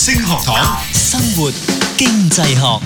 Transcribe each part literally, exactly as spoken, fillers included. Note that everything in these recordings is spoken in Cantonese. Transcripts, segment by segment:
星學堂，生活經濟學。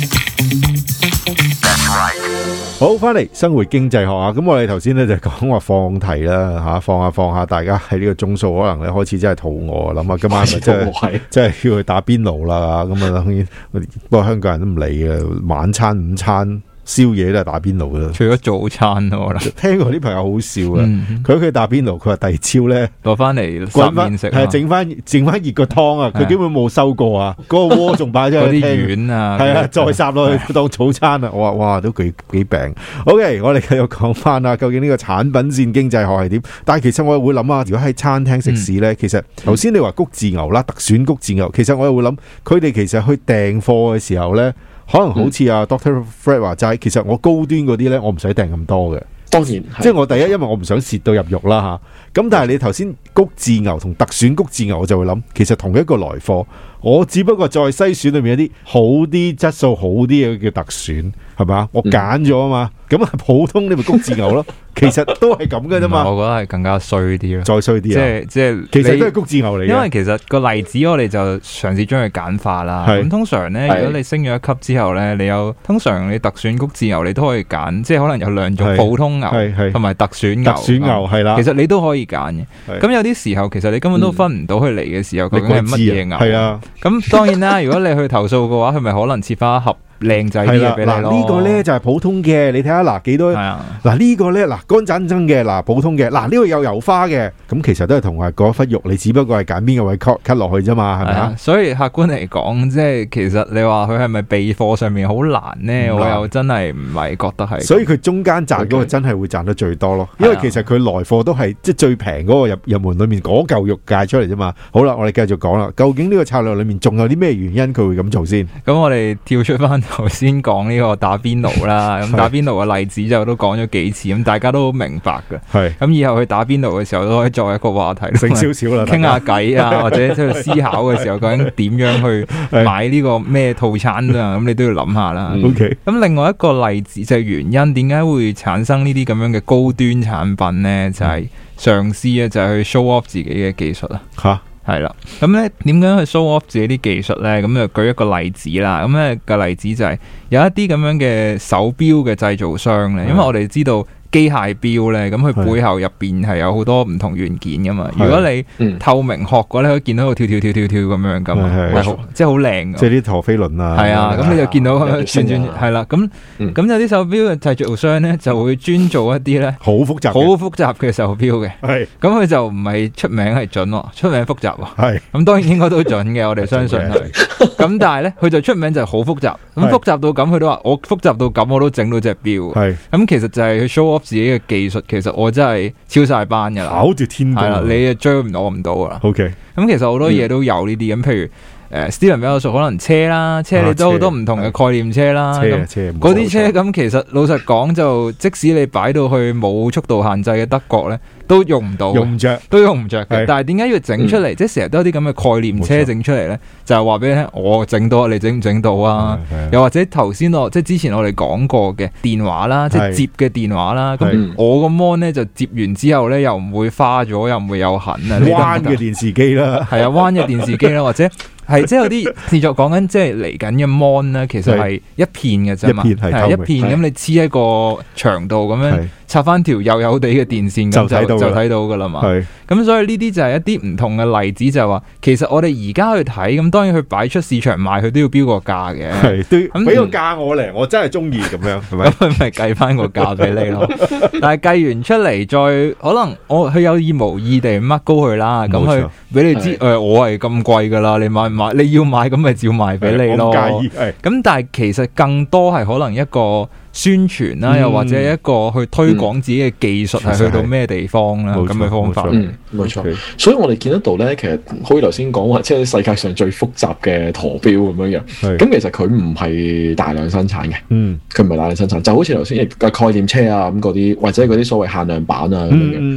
好，翻嚟生活經濟學啊！咁我哋頭先咧就講話放題啦吓，放下放下，大家喺呢個鐘數可能咧開始真係肚餓，諗下今晚咪真係真係要去打邊爐啦咁啊！當然，不過香港人都唔理嘅，晚餐、午餐。宵夜都係打邊爐噶啦， 除咗早餐咯。 聽過啲朋友好笑啊，佢屋企打邊爐，佢話第二朝咧攞翻嚟滾翻食， 係整翻整翻熱個湯啊！佢基本冇收過啊，嗰個鍋仲擺咗喺啲丸啊， 係啊，再撒落去當早餐啊！我話哇，都幾幾病。OK， 我哋繼續講翻啊，究竟呢個產品線經濟學係點？但係其實我會諗啊，如果喺餐廳食肆咧，其實頭先你話谷字牛啦，特選谷字牛，其實我又會諗，佢哋其實去訂貨嘅時候咧。可能好似阿 Doctor Fred 話齋，其實我高端嗰啲咧，我唔使訂咁多嘅。 當然， 即係我第一，因為我唔想蝕到入肉啦吓。咁但係你頭先谷字牛同特選谷字牛，我就會諗，其實同一個來貨，我只不過再篩選裏面一啲好啲、質素好啲嘅叫特選，係咪？我揀咗啊嘛。咁啊，普通你咪谷字牛咯。其實都係咁嘅啫嘛。 我覺得係更加衰啲咯， 再衰啲啊！ 即係即係， 其實都係谷字牛嚟嘅。 因為其實個例子我哋就嘗試將佢簡化啦。咁通常咧，如果你升咗一級之後咧，你有通常你特選谷字牛，你都可以揀，即係可能有兩種普通牛同埋特選牛。特選牛係啦，其實你都可以揀嘅。咁有啲時候，其實你根本都分唔到佢嚟嘅時候究竟係乜嘢牛。係啊。咁當然啦，如果你去投訴嘅話，佢咪可能切翻一盒靚仔啲嘢俾你咯。呢個咧就係普通嘅，你睇下嗱幾多。嗱呢個咧嗱乾爭爭嘅，嗱普通嘅，嗱呢個有油花嘅，咁其實都係同埋嗰忽肉，你只不過係揀邊個位 cut cut 落去啫嘛，係咪啊？所以客觀嚟講，即係其實你話佢係咪備貨上面好難咧？我又真係唔係覺得係。所以佢中間賺嗰個真係會賺得最多咯，因為其實佢來貨都係即係最平嗰個入入門裏面嗰嚿肉界出嚟啫嘛。好啦，我哋繼續講啦，究竟呢個策略裏面仲有啲咩原因佢會咁做先？咁我哋跳出翻頭先講呢個打邊爐啦，咁打邊爐嘅例子就都講咗幾次，咁大家都好明白嘅。係咁以後去打邊爐嘅時候都可以作為一個話題，剩少少啦，傾下偈啊，或者即係思考嘅時候究竟點樣去買呢個咩套餐啊？咁你都要諗下啦。OK。咁另外一個例子就係原因，點解會產生呢啲咁樣嘅高端產品呢？就係嘗試啊，就係去 show off 自己嘅技術啊。吓。係啦，咁咧點樣去 show off 自己啲技術咧？咁就舉一個例子啦。咁咧個例子就係有一啲咁樣嘅手錶嘅製造商咧，因為我哋知道機械錶咧，咁佢背後入邊係有好多唔同元件噶嘛。如果你透明殼嘅咧，可以見到佢跳跳跳跳跳咁樣噶嘛，係好即係好靚。即係啲陀飛輪啊。係啊，咁你就見到佢轉轉係啦。咁咁有啲手錶嘅製造商咧，就會專做一啲咧好複雜、好複雜嘅手錶嘅。係咁佢就唔係出名係準喎，出名複雜喎。係咁當然應該都準嘅，我哋相信係。咁但係咧，佢就出名就係好複雜。咁複雜到咁，佢都話我複雜到咁，我都整到隻錶。係咁其實就係去 show off自己嘅技術，其實我真係超晒班噶啦，考住天係啦，你追唔到我唔到噶啦。OK，咁其實好多嘢都有呢啲咁，譬如誒 Steven 比較熟，可能車啦，車你都好多唔同嘅概念車啦。車車嗰啲車咁，其實老實講就，即使你擺到去冇速度限制嘅德國咧，都用唔到，用唔着，都用唔着嘅。但係點解要整出嚟？即係成日都有啲咁嘅概念車整出嚟咧，就係話俾你聽，我整到，你整唔整到啊？又或者頭先我即係之前我哋講過嘅電話啦，即係接嘅電話啦。咁我個 mon 咧就接完之後咧，又唔會花咗，又唔會有痕啊。彎嘅電視機啦，係啊，彎嘅電視機啦，或者。係即係有啲製作講緊，即係嚟緊嘅 mon 咧，其實係一片嘅啫嘛，係一片咁你黐喺個牆度咁樣插翻條幼幼地嘅電線，咁就就睇到噶啦嘛。咁所以呢啲就係一啲唔同嘅例子，就係話其實我哋而家去睇，咁當然佢擺出市場賣，佢都要標個價嘅。係都俾個價我嚟，我真係中意咁樣，係咪？咁佢咪計翻個價俾你咯。但係計完出嚟，再可能我佢有意無意地乜高佢啦，咁佢俾你知誒，我係咁貴噶啦，你買。你要買咁咪照賣俾你咯，咁但係其實更多係可能一個宣傳啦，又或者一個去推廣自己嘅技術係去到咩地方啦，咁嘅方法。嗯，冇錯。所以我哋見得到咧，其實好似頭先講話，即係世界上最複雜嘅陀錶咁樣樣。咁其實佢唔係大量生產嘅，嗯，佢唔係大量生產，就好似頭先嘅概念車啊咁嗰啲，或者嗰啲所謂限量版啊咁樣樣。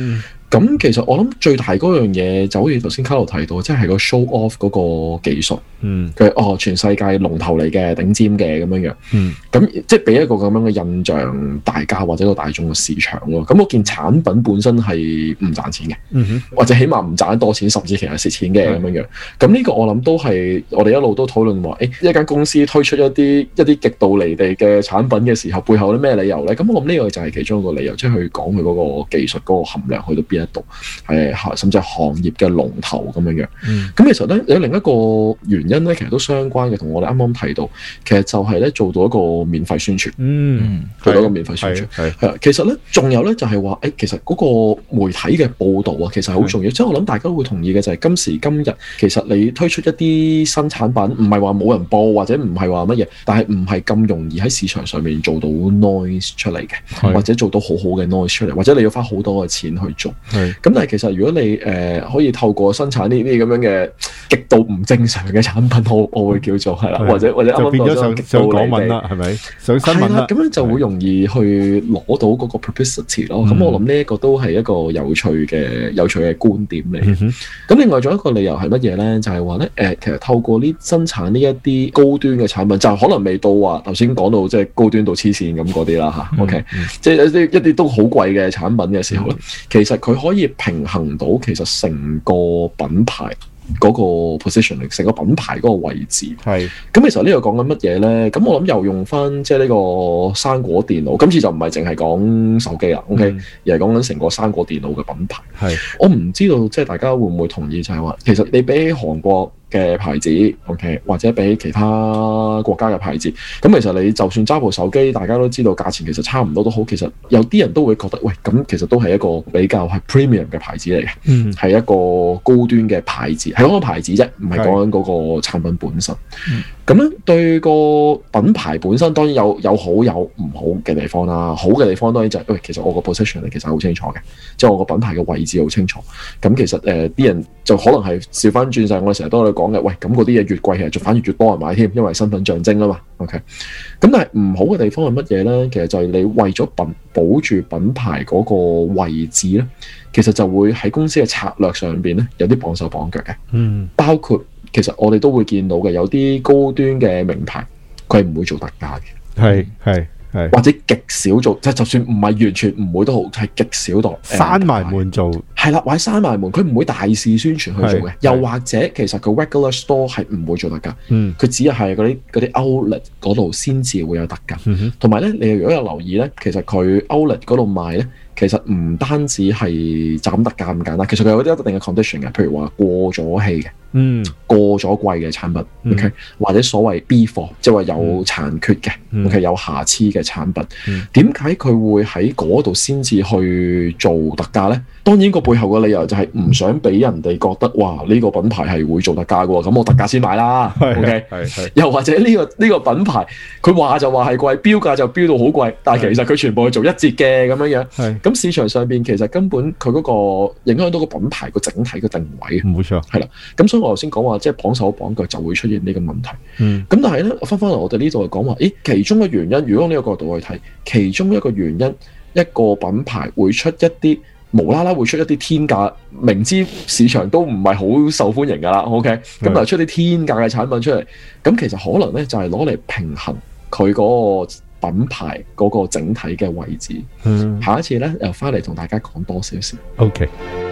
咁其實我諗最大嗰樣嘢就好似頭先卡羅提到，即係個 show off 嗰個技術，嗯，佢哦全世界龍頭嚟嘅頂尖嘅咁樣樣，嗯，咁即係俾一個咁樣嘅印象大家或者個大眾嘅市場咯。咁嗰件產品本身係唔賺錢嘅，嗯哼，或者起碼唔賺得多錢，甚至其實蝕錢嘅咁樣樣。咁呢個我諗都係我哋一路都討論話，誒一間公司推出一啲一啲極度離地嘅產品嘅時候，背後有啲咩理由咧？咁我諗呢個就係其中一個理由，即係去講佢嗰個技術嗰個含量去到邊一度，係甚至係行業嘅龍頭咁樣樣。咁、嗯、其實咧有另一個原因咧，其實都相關嘅，同我哋啱啱提到，其實就係咧做到一個免費宣傳，嗯，做到一個免費宣傳，係係。其實咧仲有咧就係話，誒其實嗰個媒體嘅報導啊，其實係好重要。即係我諗大家都會同意嘅就係今時今日，其實你推出一啲新產品，唔係話冇人報或者唔係話乜嘢，但係唔係咁容易喺市場上面做到 noise 出嚟嘅，或者做到好好嘅 noise 出嚟，或者你要花好多嘅錢去做。咁但係其實如果你誒、呃、可以透過生產呢啲咁樣嘅極度唔正常嘅產品，我我會叫做係啦，或者或者啱啱變咗上上港聞啦，係咪上新聞啦？咁樣就會容易去攞到嗰個 publicity 咯。咁、嗯、我諗呢一個都係一個有趣嘅有趣嘅觀點嚟。咁、嗯、另外仲有一個理由係乜嘢咧？就係話咧誒，其實透過呢生產呢一啲高端嘅產品，就可能未到話頭先講到即係高端到黐線咁嗰啲啦嚇。嗯、OK，、嗯、即係一啲一啲都好貴嘅產品嘅時候咧，嗯、其實佢可以平衡到其實成個品牌嗰個 positioning， 成個品牌嗰個位置。係咁，其實呢個講緊乜嘢咧？咁我諗又用翻即係呢個生果電腦，今次就唔係淨係講手機啦、嗯、，OK， 而係講緊成個生果電腦嘅品牌。係我唔知道即係大家會唔會同意就係話，其實你比起韓國嘅牌子 ，OK， 或者比其他國家嘅牌子，咁其實你就算揸部手機，大家都知道價錢其實差唔多都好。其實有啲人都會覺得，喂，咁其實都係一個比較係 premium 嘅牌子嚟嘅，嗯，係一個高端嘅牌子，係講個牌子啫，唔係講緊嗰個產品本身。咁咧、嗯、對個品牌本身當然有有好有唔好嘅地方啦。好嘅地方當然就係、是，喂，其實我個 position 其實好清楚嘅，即係我個品牌嘅位置好清楚。咁其實誒啲、呃、人就可能係調翻轉晒，我哋成日都喺度講嘅，喂，咁嗰啲嘢越貴，其實就反而越多人買添，因為身份象徵啊嘛。OK，咁但係唔好嘅地方係乜嘢咧？其實就係你為咗品保住品牌嗰個位置咧，其實就會喺公司嘅策略上邊咧有啲綁手綁腳嘅。嗯，包括其實我哋都會見到嘅，有啲高端嘅名牌，佢係唔會做特價嘅。係係。或者極少做，即係就算唔係完全唔會都好，係極少度閂埋門做，係啦，或者閂埋門，佢唔會大肆宣傳去做嘅。又或者其實佢 regular store 係唔會做特價，嗯，佢只係嗰啲嗰啲 outlet 嗰度先至會有特價。同埋咧，你如果有留意咧，其實佢 outlet 嗰度賣咧，其實唔單止係就咁特價咁簡單，其實佢有啲一定嘅 condition 嘅，譬如話過咗氣嘅。嗯，過咗貴嘅產品、嗯、，OK， 或者所謂 B 貨，即係話有殘缺嘅、嗯、，OK， 有瑕疵嘅產品，點解佢會喺嗰度先至去做特價咧？當然個背後嘅理由就係唔想俾人哋覺得，哇，呢、這個品牌係會做特價嘅，咁我特價先買啦 ，OK， 又或者呢、這個呢、這個品牌，佢話就話係貴，標價就標到好貴，但係其實佢全部係做一折嘅咁樣樣，咁市場上邊其實根本佢嗰個影響到個品牌個整體嘅定位，冇錯，係啦，咁所以我頭先講話，即係綁手綁腳就會出現呢個問題。嗯，咁但係咧，翻翻嚟我哋呢度係講話，誒，其中嘅原因，如果呢個角度去睇，其中一個原因，一個品牌會出一啲無啦啦會出一啲天價，明知市場都唔係好受歡迎噶啦 ，OK， 咁但係出啲天價嘅產品出嚟，咁其實可能咧就係攞嚟平衡佢嗰個品牌嗰個整體嘅位置。嗯，下一次咧又翻嚟同大家講多少少。OK。